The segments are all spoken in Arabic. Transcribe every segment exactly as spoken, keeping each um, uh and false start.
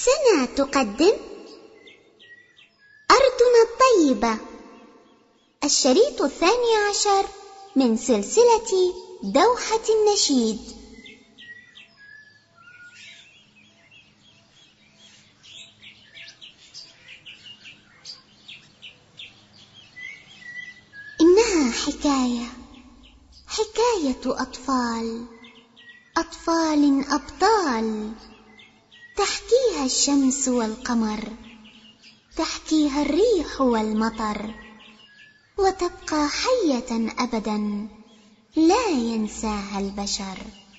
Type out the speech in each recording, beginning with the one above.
سنة تقدم أرضنا الطيبة، الشريط الثاني عشر من سلسلة دوحة النشيد. إنها حكاية حكاية أطفال أطفال أبطال، تحكيها الشمس والقمر، تحكيها الريح والمطر، وتبقى حية أبدا لا ينساها البشر.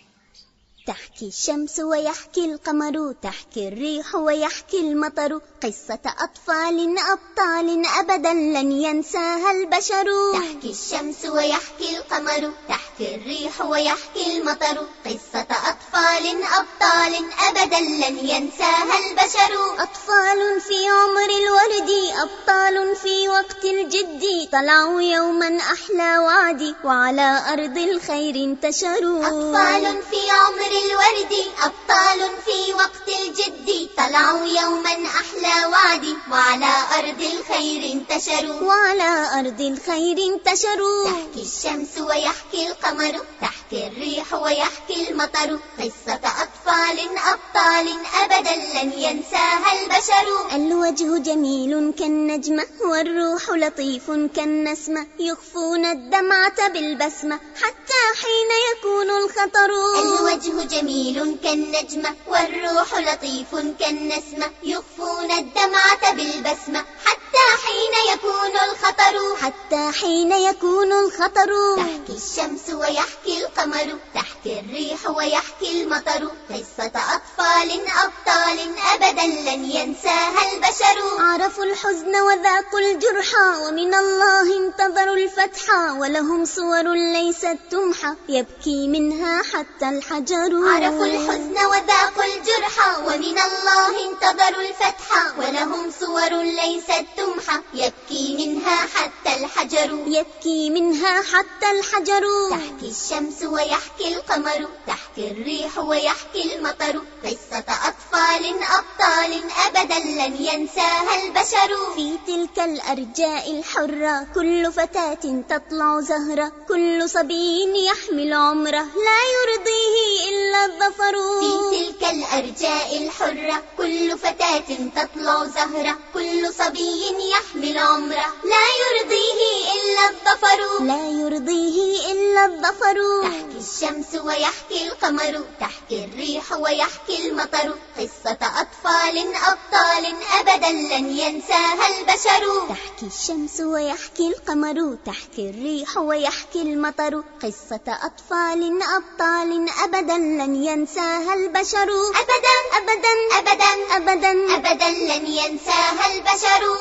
تحكي الشمس ويحكي القمر، تحكي الريح ويحكي المطر، قصة أطفال أبطال أبدا لن ينساها البشر. تحكي الشمس ويحكي القمر، تحكي الريح ويحكي المطر، قصة أطفال أبطال أبدا لن ينساها البشر. أطفال في عمر الورد، أبطال في وقت الجد، طلعوا يوما أحلى وعد وعلى أرض الخير انتشروا. أطفال في عمر الورد، أبطال في وقت الجد، طلعوا يوما أحلى وعد وعلى أرض الخير انتشروا. وعلى أرض الخير انتشروا. تحكي الشمس ويحكي القمر، تحكي الريح ويحكي المطر، قصة أطفال أبطال أبدا لن ينساها البشر. الوجه جميل كالنجمة، والروح لطيف كالنسمة، يخفون الدمعة بالبسمة حتى حين يكون الخطر. الوجه جميل كالنجمة، والروح لطيف كالنسمة، يخفون الدمعة بالبسمة حتى حين يكون الخطر. حتى حين يكون الخطر. تحكي الشمس ويحكي القمر، تحكي الريح ويحكي المطر، قصة أطفال أبطال أبدا لن ينساها البشر. عرفوا الحزن وذاقوا الجرحى، ومن الله انتظروا الفتحى، ولهم صور ليست تمحى يبكي منها حتى الحجر. عرفوا الحزن وذاقوا الجرحى، ومن الله انتظروا الفتحى، ولهم صور ليست تمحى يبكي منها حتى الحجر. يبكي منها حتى الحجر. تحكي الشمس ويحكي القمر، تحكي الريح ويحكي المطر، قصة أطفال أبطال أبدا لن ينساها البشر. في تلك الأرجاء الحرة كل فتاة تطلع زهرة، كل صبي يحمل عمره لا يرضيه إلا الظفر. في تلك الأرجاء الحرة كل فتاة تطلع زهرة، كل صبي يحمل عمره لا يرضيه إلا الظفر. لا يرضيه إلا الظفر. تحكي الشمس ويحكي القمر، تحكي الريح ويحكي المطر، قصة أطفال أبطال أبدا لن ينساها البشر. تحكي الشمس ويحكي القمر، تحكي الريح ويحكي المطر، قصة أطفال أبطال أبدا لن ينساها البشر. أبدا أبدا أبدا أبدا أبدا لن ينساها البشر.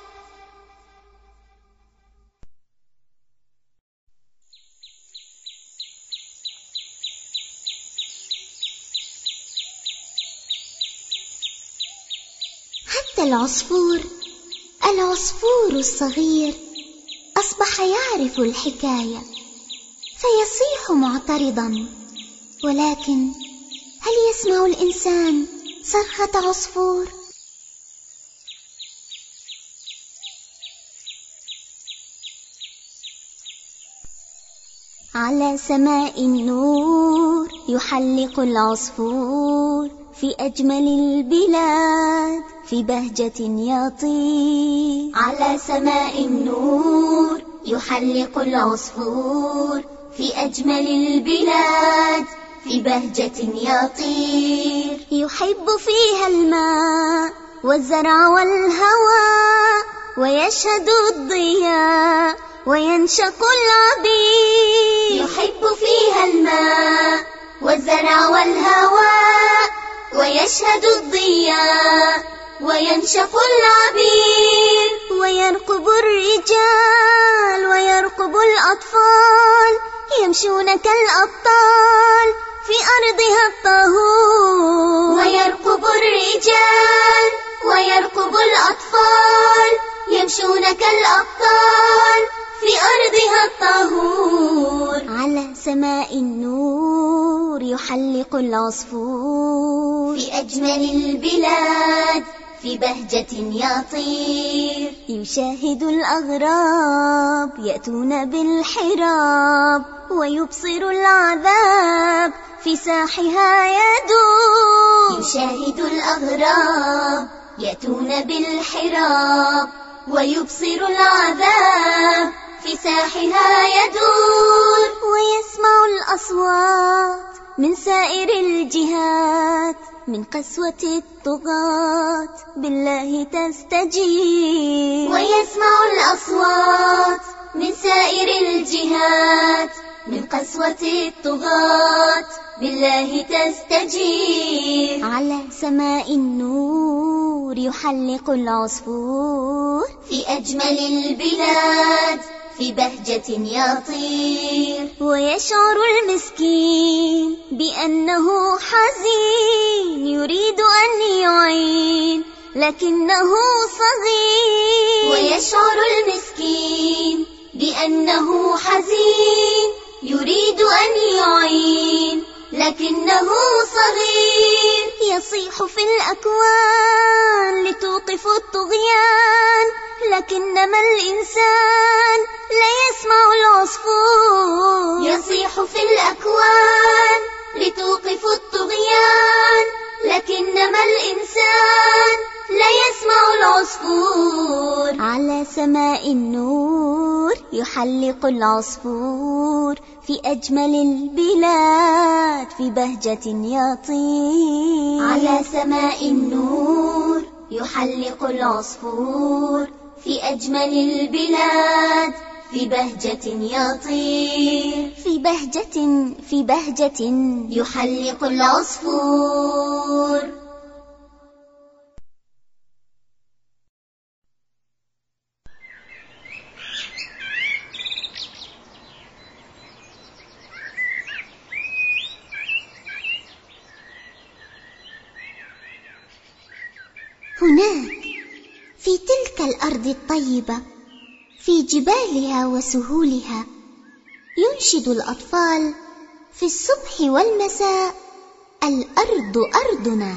حتى العصفور العصفور الصغير أصبح يعرف الحكاية، فيصيح معترضا، ولكن هل يسمع الإنسان صرخة عصفور؟ على سماء النور يحلق العصفور، في أجمل البلاد في بهجة يطير. على سماء النور يحلق العصفور، في أجمل البلاد في بهجة يطير. يحب فيها الماء والزرع والهواء، ويشهد الضياء وينشق العبير. يحب فيها الماء والزرع والهواء، ويشهد الضياء وينشق العبير. ويرقب الرجال ويرقب الأطفال، يمشون كالأبطال في أرضها الطهور. ويرقب الرجال ويرقب الأطفال، يمشون كالأبطال في أرضها الطهور. على سماء النور يحلق العصفور في أجمل البلاد في بهجة يطير يشاهد الأغراب يأتون بالحراب ويبصر العذاب في ساحها يدور يشاهد الأغراب يأتون بالحراب ويبصر العذاب في ساحها يدور ويسمع الأصوات من سائر الجهات من قسوة الطغاة بالله تستجيب ويسمع الأصوات من سائر الجهات من قسوة الطغاة بالله تستجيب على سماء النور يحلق العصفور في أجمل البلاد في بهجة يطير ويشعر المسكين بأنه حزين يريد أن يعين لكنه صغير ويشعر المسكين بأنه حزين يريد أن يعين لكنه صغير يصيح في الأكوان لتوقف الطغيان لكنما الإنسان لا يسمع العصفور يصيح في الأكوان لتوقف الطغيان لكنما الإنسان لا يسمع العصفور على سماء النور يحلق العصفور في أجمل البلاد في بهجة يطير على سماء النور يحلق العصفور في أجمل البلاد في بهجة يطير في بهجة في بهجة يحلق العصفور. هناك في تلك الأرض الطيبة في جبالها وسهولها ينشد الأطفال في الصبح والمساء الأرض أرضنا.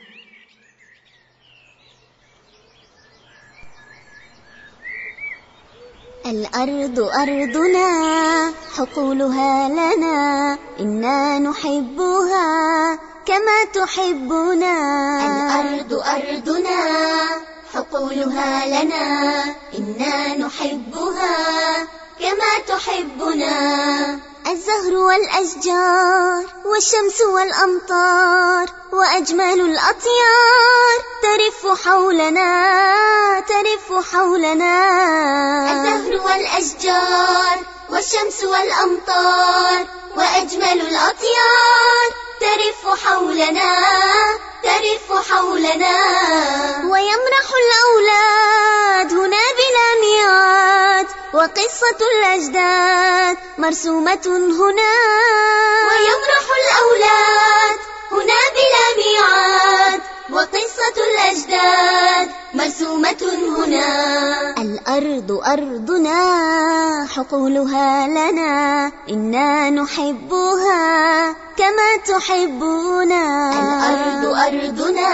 الأرض أرضنا حقولها لنا إنا نحبها كما تحبنا. الأرض أرضنا حقولها لنا إنا نحبها كما تحبنا. الزهر والأشجار والشمس والأمطار وأجمل الأطيار ترف حولنا ترف حولنا. الزهر والأشجار والشمس والأمطار وأجمل الأطيار ترف حولنا ترف حولنا. ويمرح الأولاد هنا بلا ميعاد وقصة الأجداد مرسومة هنا. ويمرح الأولاد هنا بلا ميعاد وقصة الأجداد مرسومة هنا. الأرض أرضنا حقولها لنا إنا نحبها كما تحبنا. الأرض أرضنا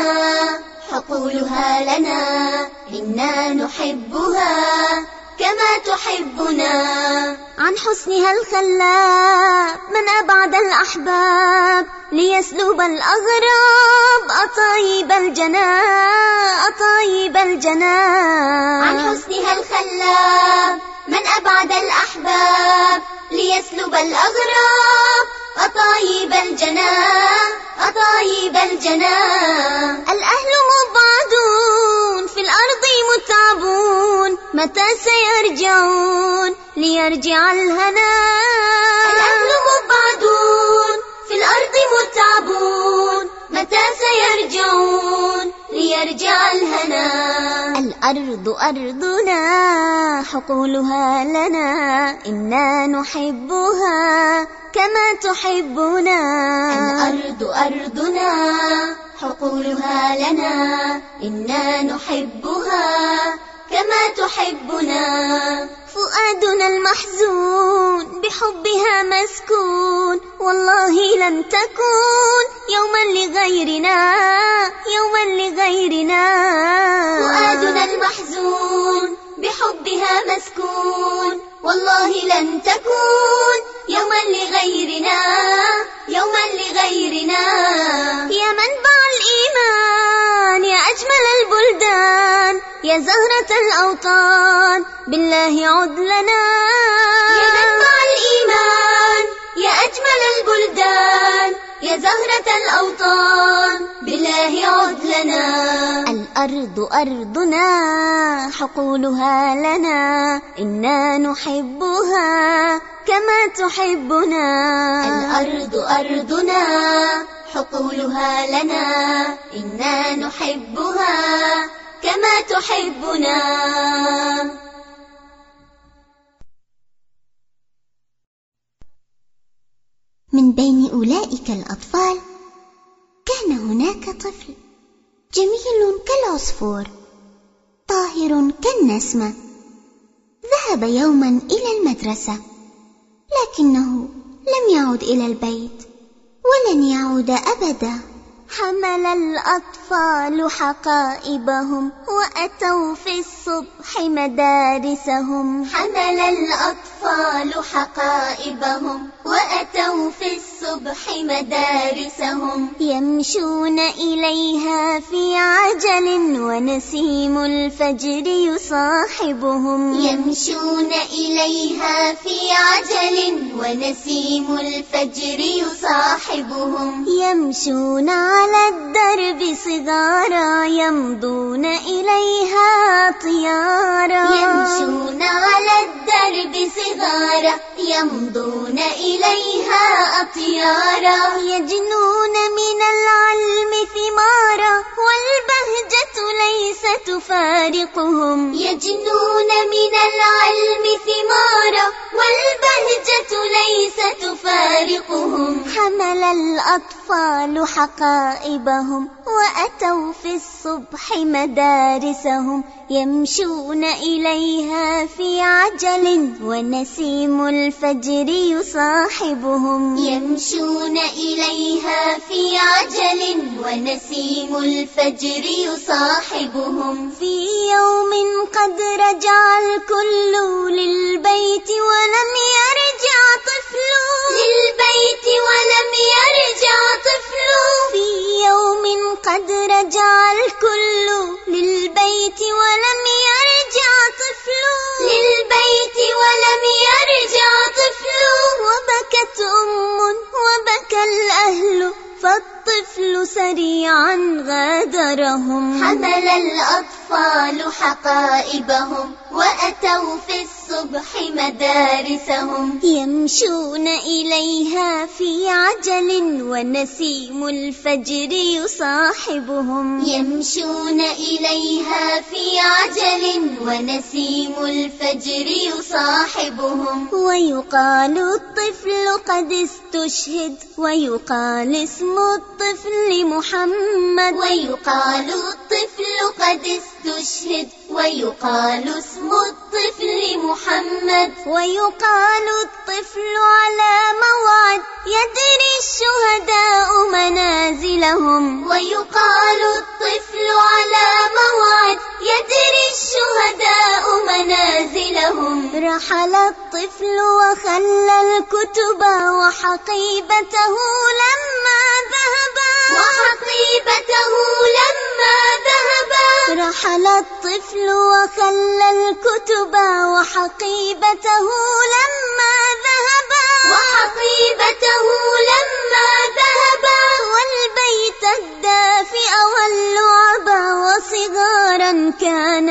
حقولها لنا إنا نحبها كما تحبنا. عن حسنها الخلاب من أبعد الأحباب ليسلب الأغراب أطايب الجنان أطايب الجنان. عن حسنها الخلاب من أبعد الأحباب ليسلب الأغراب أطايب الجنان أطايب الجنان. الأهل مبعدون في الأرض متعبون متى سيرجعون ليرجع الهنا. الأهل مبعدون في الأرض متعبون متى سيرجعون ليرجع الهنا. الأرض أرضنا حقولها لنا إنا نحبها كما تحبنا. الأرض أرضنا حقولها لنا إنا نحبها كما تحبنا. فؤادنا المحزون بحبها مسكون، والله لن تكون يوما لغيرنا، يوما لغيرنا. فؤادنا المحزون بحبها مسكون، والله لن تكون يوما لغيرنا، يوما لغيرنا. يا منبع الإيمان، يا أجمل البلدان، يا زهرة الأوطان، بالله عد لنا. يا منبع الإيمان، يا أجمل البلدان، يا زهرة الأوطان، بالله عد لنا. الأرض أرضنا، حقولها لنا، إنا نحبها كما تحبنا. الأرض أرضنا، حقولها لنا، إنا نحبها كما تحبنا. من بين أولئك الأطفال كان هناك طفل جميل كالعصفور، طاهر كالنسمة. ذهب يوما إلى المدرسة، لكنه لم يعد إلى البيت ولن يعود أبدا. حمل الأطفال حقائبهم وأتوا في الصبح مدارسهم. حمل الأطفال حقائبهم وأتوا في الصبح مدارسهم. يمشون إليها في عجل ونسيم الفجر يصاحبهم. يمشون إليها في عجل ونسيم الفجر يصاحبهم. يمشون على الدرب صغارا، يمضون إليها طيارا. يمشون على الدرب صغارا، يمضون إليها أطيارا. يجنون من العلم ثمارا، والبهجة ليس تفارقهم. يجنون من العلم ثمارا، والبهجة ليس تفارقهم. حمل الأطفال حقائبهم وأتوا في الصبح مدارسهم. يمشون إليها في عجل ونسيم الفجر يصاحبهم. يمشون إليها في عجل ونسيم الفجر يصاحبهم. في يوم قد رجع الكل للبيت ولم يرجع طفل، للبيت ولم يرجع طفل. في يوم قد رجع الكل للبيت ولم يرجع طفل، للبيت ولم يرجع طفل. وبكت أم وبكى الأهل، فالطفل سريعا غادرهم. حمل الأطفال حقائبهم وأتوا في الصبح مدارسهم. يمشون إليها في عجل ونسيم الفجر يصاحبهم. يمشون إليها في عجل ونسيم الفجر يصاحبهم. ويقال الطفل قد استشهد، ويقال اسم الطفل محمد. ويقال الطفل قد استشهد، ويقال اسم الطفل محمد. ويقال الطفل على موعد، يدري الشهداء منازلهم. ويقال الطفل على موعد، يدري الشهداء منازلهم. رحل الطفل وخلى الكتب وحقيبته لما ذهبا، وحقيبته لما ذهبا. رحل الطفل وخلى الكتب وحقيبته لما ذهبا، وحقيبته لما ذهبا. والبيت الدافئ واللعب وصغارا كان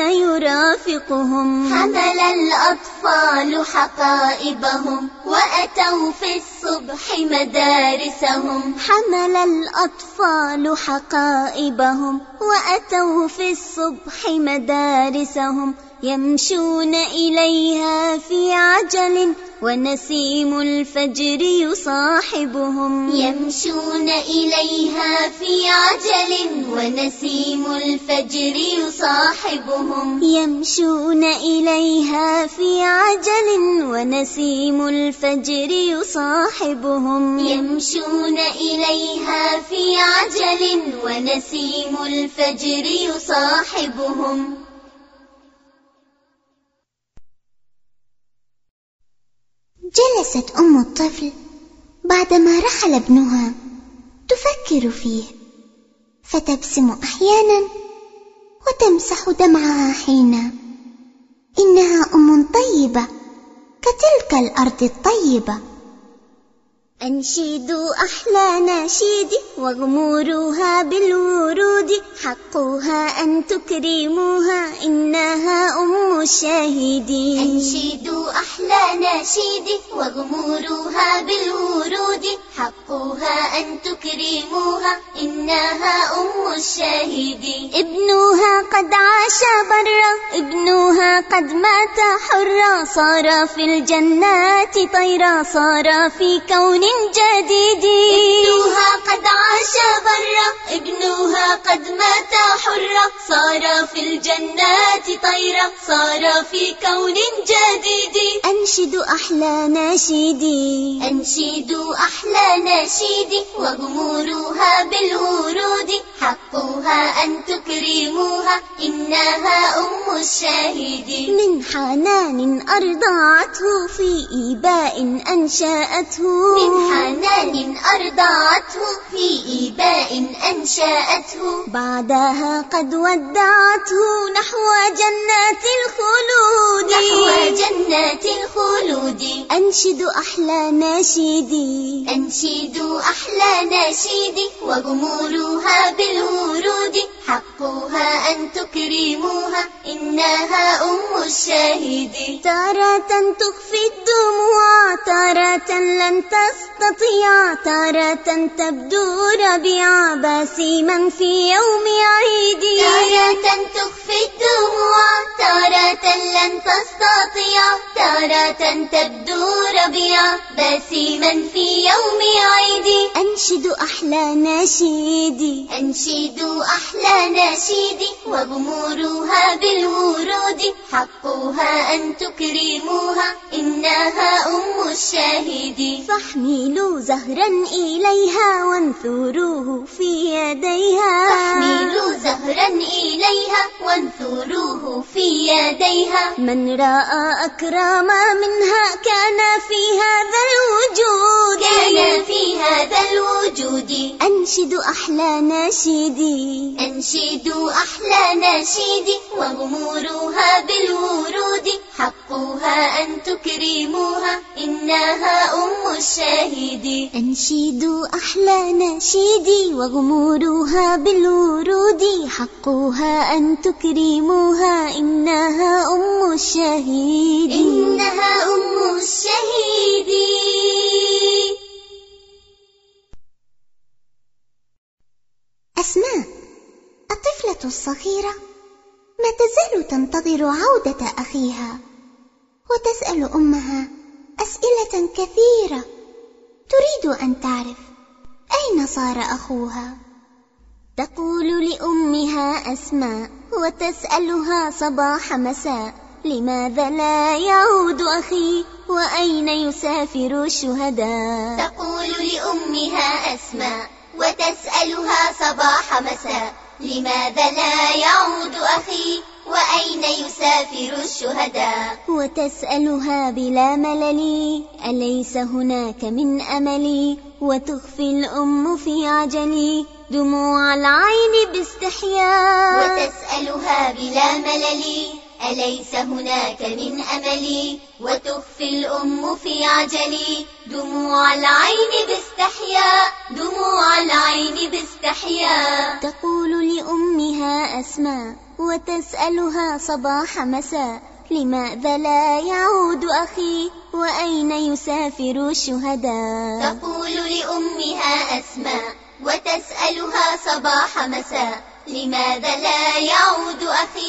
يرافقهم. حمل الأطفال حقائبهم وأتوا في الصبح مدارسهم. حمل الأطفال حقائبهم وأتوا في الصبح مدارسهم. يمشون إليها في عجل ونسيم الفجر يصاحبهم. يمشون إليها في عجل ونسيم الفجر يصاحبهم. يمشون إليها في عجل ونسيم الفجر يصاحبهم. يمشون إليها في عجل ونسيم الفجر يصاحبهم. جلست أم الطفل بعدما رحل ابنها تفكر فيه، فتبسم أحيانا وتمسح دمعها حينا. إنها أم طيبة كتلك الأرض الطيبة. أنشدوا أحلى نشيد واغمروها بالورود، حقها أن تكرموها إنها أم الشاهدين. أنشدوا أحلى نشيد واغمروها بالورود، حقها أن تكرموها إنها أم الشاهدين. ابنها قد عاش برا، ابنها قد مات حرا، صار في الجنات طيرا، صار في كون جديد. ابنها قد عاش برا، ابنها قد مات حرا، صار في الجنات طيرا، صار في كون جديد. أنشدوا أحلى نشيدي، أنشدوا أحلى نشيدي واغمروها بالورود، حقها أن تكرموها إنها أم الشاهدين. من حنان أرضعته في إيباء أنشأته، من حنان أرضعته في إيباء أنشأته، بعدها قد ودعته نحو جنات الخلود، نحو جنات الخلود. أنشدوا أحلى نشيدي، أنشدوا أحلى نشيدي واغمروها بالورود، حقها أن تكرموها إنها أم الشاهدين. تارة تخفي الدموع، تارة لن تستطيع، تارة تبدو ربيعا باسما في يوم عيد. تارة تخفي الدموع، تارة لن تستطيع، تارة تبدو ربيعا باسما في يوم عيد. أنشدوا أحلى نشيدي، أنشدوا أحلى نشيدي واغمروها بالورود، حقها أن تكرموها إنها أم الشاهدين. فاحملوا زهرا إليها وانثروه في يديها، فاحملوا زهرا إليها وانثروه في يديها. من رأى أكرم منها كان في هذا الوجود، كان في هذا الوجود. أنشدوا أحلى نشيدي، أنشدوا أحلى نشيدي واغمروها بالورود، حقها أن تكرموها إنها أم الشاهدين. أنشدوا أحلى نشيدي واغمروها بالورود، حقها أن تكرموها إنها أم الشهيد، إنها أم الشهيد. أسماء الطفلة الصغيرة ما تزال تنتظر عودة أخيها، وتسأل أمها أسئلة كثيرة، تريد أن تعرف أين صار أخوها. تقول لأمها أسماء وتسألها صباح مساء، لماذا لا يعود أخي وأين يسافر الشهداء. تقول لأمها أسماء وتسألها صباح مساء، لماذا لا يعود أخي وأين يسافر الشهداء. وتسألها بلا ملل أليس هناك من أملي، وتخفي الأم في عجلي دموع العين باستحياء. وتسألها بلا ملل أليس هناك من أملي، وتخفي الأم في عجلي دموع العين باستحياء، دموع العين باستحياء. تقول لأمها أسماء وتسألها صباح مساء، لماذا لا يعود أخي وأين يسافر الشهداء. تقول لأمها أسماء وتسألها صباح مساء، لماذا لا يعود أخي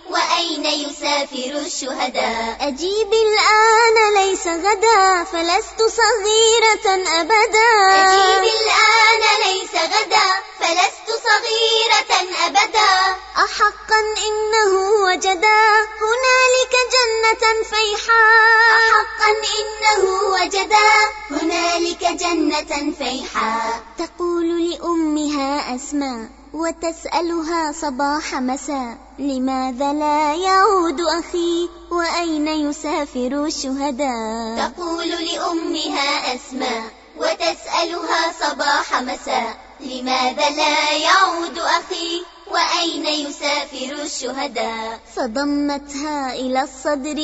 وأين يسافر الشهداء؟ أجيب الآن ليس غدا فلست صغيرة أبدا. أجيب الآن ليس غدا فلست صغيرة أبدا. أحقا إنه وجدا هنالك جنة فيحاء. أحقا إنه وجدا هنالك جنة فيحاء. تقول لأمها أسماء وتسألها صباح مساء لماذا لا يعود أخي وأين يسافر الشهداء؟ تقول لأمها أسماء وتسألها صباح مساء لماذا لا يعود أخي وأين يسافر الشهداء؟ فضمتها إلى الصدر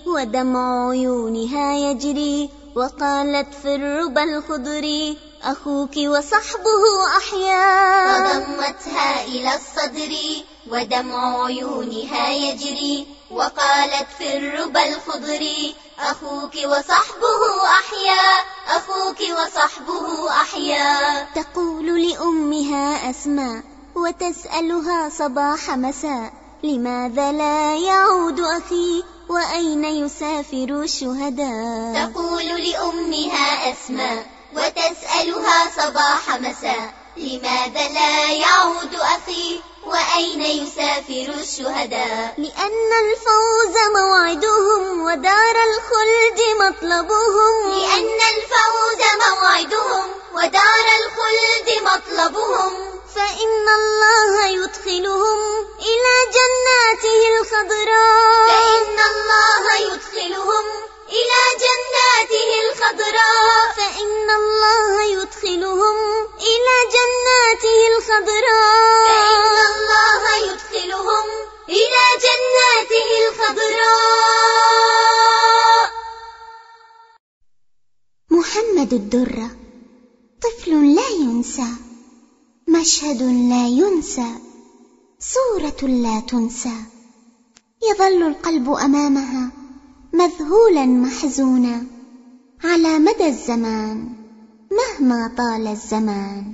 ودمع عيونها يجري وقالت في الربى الخضر أخوك وصحبه أحياء. فضمتها إلى الصدر ودمع عيونها يجري وقالت في الربى الخضر أخوك وصحبه أحياء. أخوك وصحبه أحياء. تقول لأمها أسماء وتسألها صباح مساء لماذا لا يعود أخي وأين يسافر الشهداء؟ تقول لأمها أسماء وتسألها صباح مساء لماذا لا يعود أخي وأين يسافر الشهداء؟ لأن الفوز موعدهم ودار الخلد مطلبهم. لأن الفوز موعدهم ودار الخلد مطلبهم. فإن الله يدخلهم إلى جناته الخضراء. فإن الله يدخلهم إلى جناته الخضراء. فإن الله يدخلهم إلى جناته الخضراء. فإن الله يدخلهم إلى جناته الخضراء. محمد الدرة طفل لا ينسى، مشهد لا ينسى، صورة لا تنسى. يظل القلب أمامها مذهولا محزونا على مدى الزمان مهما طال الزمان.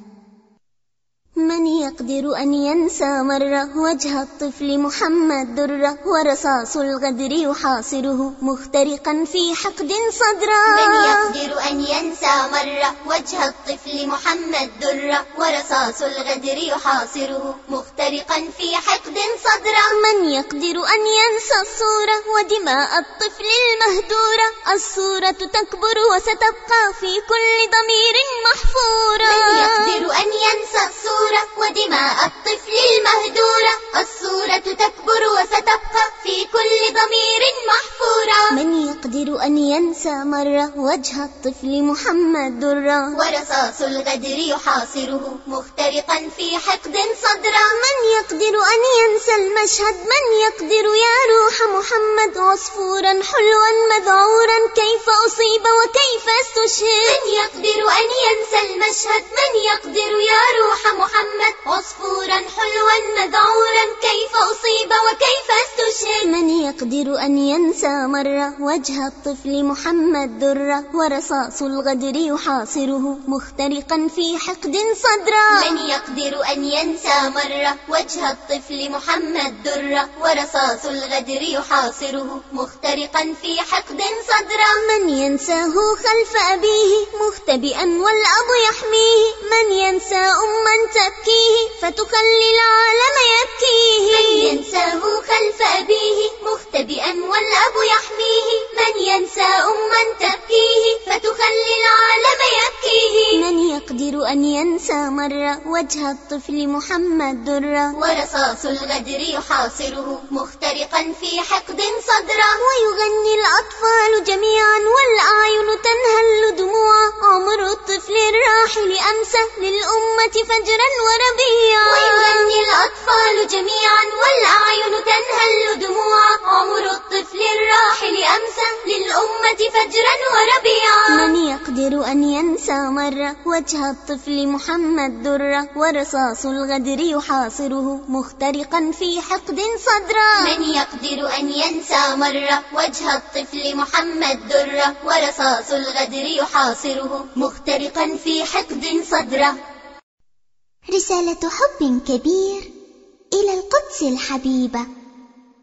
من يقدر أن ينسى مرة وجه الطفل محمد درة ورصاص الغدر يحاصره مخترقا في حقد صدرا؟ من يقدر أن ينسى مرة وجه الطفل محمد درة ورصاص الغدر يحاصره مخترقا في حقد صدرا؟ من يقدر أن ينسى الصورة ودماء الطفل المهدورة؟ الصورة تكبر وستبقى في كل ضمير محفورة. من يقدر أن ينسى الصورة ودماء الطفل المهدورة؟ الصورة تكبر وستبقى في كل ضمير محفورة. من يقدر أن ينسى مرة وجه الطفل محمد درة ورصاص الغدر يحاصره مخترقا في حقد صدرا؟ من يقدر أن ينسى المشهد؟ من يقدر يا روح محمد عصفورا حلوا مذعورا كيف أصيب وكيف استشهد؟ من يقدر أن ينسى المشهد؟ من يقدر يا روح محمد عصفورا حلوا مذعورا كيف أصيب وكيف استشهد؟ من يقدر أن ينسى مرة وجه الطفل محمد درة ورصاص الغدر يحاصره مخترقا في حقد صدرا؟ من يقدر أن ينسى مرة وجه الطفل محمد درة ورصاص الغدر يحاصره مخترقا في حقد صدرا؟ من ينساه خلف أبيه مختبئا والأب يحميه؟ من ينسى أما تبكيه فتخلي العالم يبكيه؟ من ينساه خلف أبيه مختبئا والأب يحميه؟ من ينسى أما تبكيه فتخلي العالم يبكيه؟ من يقدر أن ينسى مرة وجه الطفل محمد درة ورصاص الغدر يحاصره مخترقا في حقد صدرا؟ ويغني الأطفال جميعا والأعين تنهل دموعا عمر الطفل الراحل أمسى للأمة فجرا وربيعا. ويغني الأطفال جميعا والأعين تنهل دموعا عمر الطفل الراحل أمسى للأمة فجرا وربيعا. من يقدر أن ينسى مرة وجه الطفل محمد درة ورصاص الغدر يحاصره مخترقا في حقد صدرا؟ من يقدر أن ينسى مرة وجه الطفل محمد درة ورصاص الغدر يحاصره مخترقا في حقد صدرا؟ رسالة حب كبير إلى القدس الحبيبة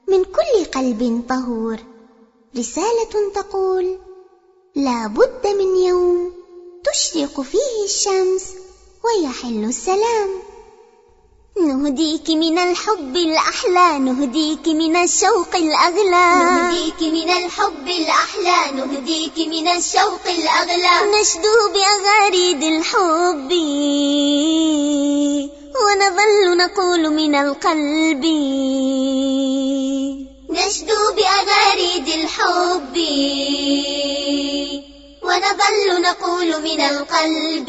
من كل قلب طهور، رسالة تقول: لا بد من يوم تشرق فيه الشمس ويحل السلام. نهديك من الحب الأحلى، نهديك من الشوق الأغلى، نهديك من الحب الأحلى، نهديك من الشوق الأغلى. نشدو بأغاريد الحب ونظل نقول من القلب، نشدو بأغاريد الحب ونظل نقول من القلب.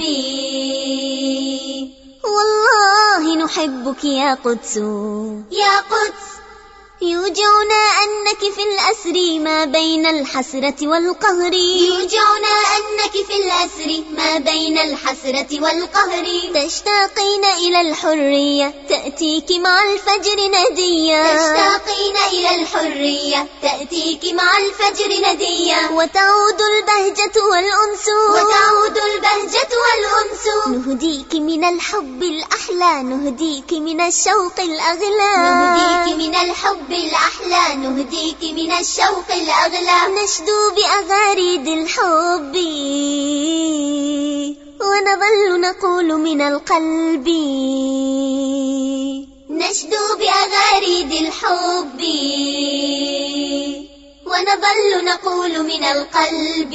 والله نحبك يا قدس، يا قدس. يوجعنا أنك في الأسر ما بين الحسرة والقهر، يوجعنا أنك في الأسر ما بين الحسرة والقهر. تشتاقين إلى الحرية تأتيك مع الفجر ندية، تشتاقين إلى الحرية تأتيك مع الفجر ندية. وتعود البهجة والأنس، وتعود البهجة والأنس. نهديك من الحب الأحلى، نهديك من الشوق الأغلى، نهديك من الحب الأحلى، نهديك من الشوق الأغلى. نشدو بأغاريد الحب ونظل نقول من القلب، نشدو بأغاريد الحب ونظل نقول من القلب.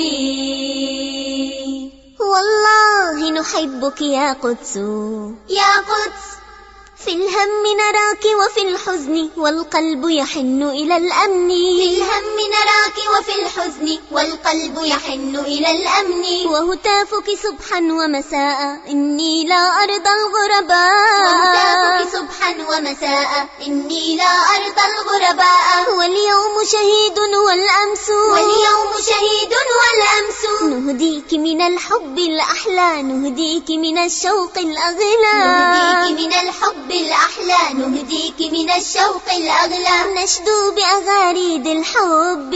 والله نحبك يا قدس، يا قدس. في الهم نراك وفي الحزن والقلب يحن إلى الأمن، في الهم نراك وفي الحزن والقلب يحن إلى الأمن. وهتافك صبحا ومساء إني لا أرضى الغرباء، وهتافك صبحا ومساء إني لا أرضى الغرباء. واليوم شهيد والأمس، واليوم شهيد والأمس. نهديك من الحب الأحلى، نهديك من الشوق الأغلى، نهديك من الحب الأحلى، نهديك من الشوق الأغلى. نشدو بأغاريد الحب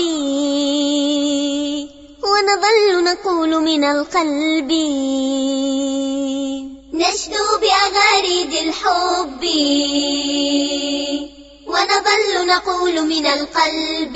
ونظل نقول من القلب، نشدو بأغاريد الحب ونظل نقول من القلب.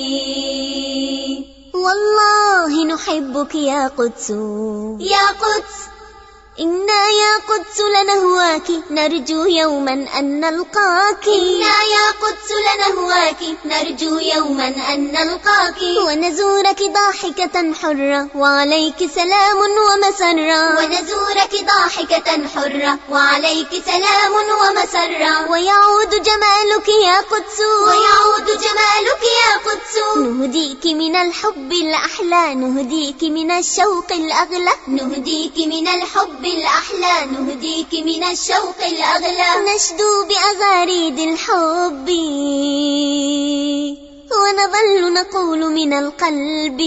والله نحبك يا قدس، يا قدس. إنا يا قدس لنهواك نرجو يوما أن نلقاك، إنا يا قدس لنهواك نرجو يوما أن نلقاك. ونزورك ضاحكة حرة وعليك سلام ومسرة، ونزورك ضاحكة حرة وعليك سلام ومسرة. ويعود جمالك يا قدس، ويعود جمالك يا قدس. نهديك من الحب الأحلى، نهديك من الشوق الأغلى، نهديك من الحب الأحلى، نهديك من الشوق الأغلى. نشدو بأغاريد الحب ونظل نقول من القلب،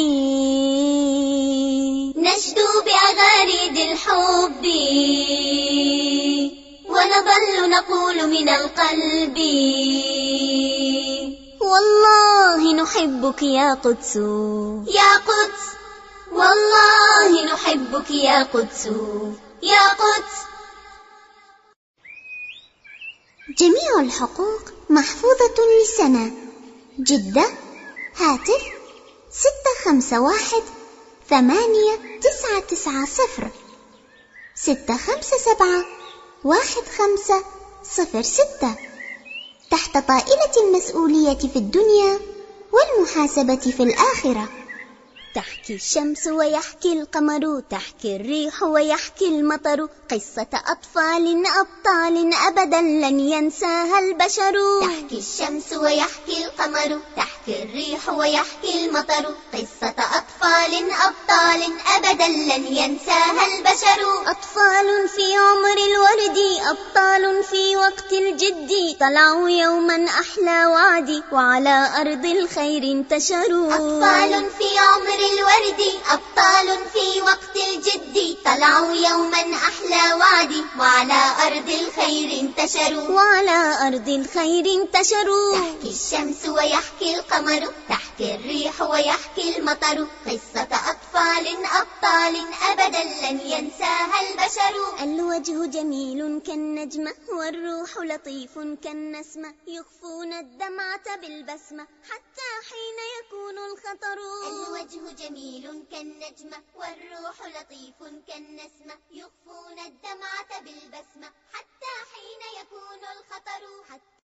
نشدو بأغاريد الحب ونظل نقول من القلب. والله نحبك يا قدس، يا قدس. والله نحبك يا قدس، يا قدس. جميع الحقوق محفوظة لسنة. جدة. هاتف ستة خمسة واحد ثمانية تسعة تسعة صفر ستة خمسة سبعة واحد خمسة صفر ستة. تحت طائلة المسؤولية في الدنيا والمحاسبة في الآخرة. تحكي الشمس ويحكي القمر، تحكي الريح ويحكي المطر، قصة أطفال أبطال أبدا لن ينساها البشر. تحكي الشمس ويحكي القمر، تحكي الريح ويحكي المطر، قصة أطفال أبطال أبدا لن ينساها البشر. أطفال في عمر الورد، أبطال في وقت الجد، طلعوا يوما أحلى وعد وعلى أرض الخير انتشروا. أطفال في عمر الورد، أبطال في وقت الجد، طلعوا يوما أحلى وعد وعلى أرض الخير انتشروا. وعلى أرض الخير انتشروا. تحكي الشمس ويحكي القمر، تحكي الريح ويحكي المطر، قصة أطفال أبطال أبدا لن ينساها البشر. البشر. الوجه جميل كالنجمة والروح لطيف كالنسمة، يخفون الدمعة بالبسمة حتى حين يكون الخطر. الوجه جميل كالنجمة والروح لطيف كالنسمة، يخفون الدمعة بالبسمة حتى حين يكون الخطر.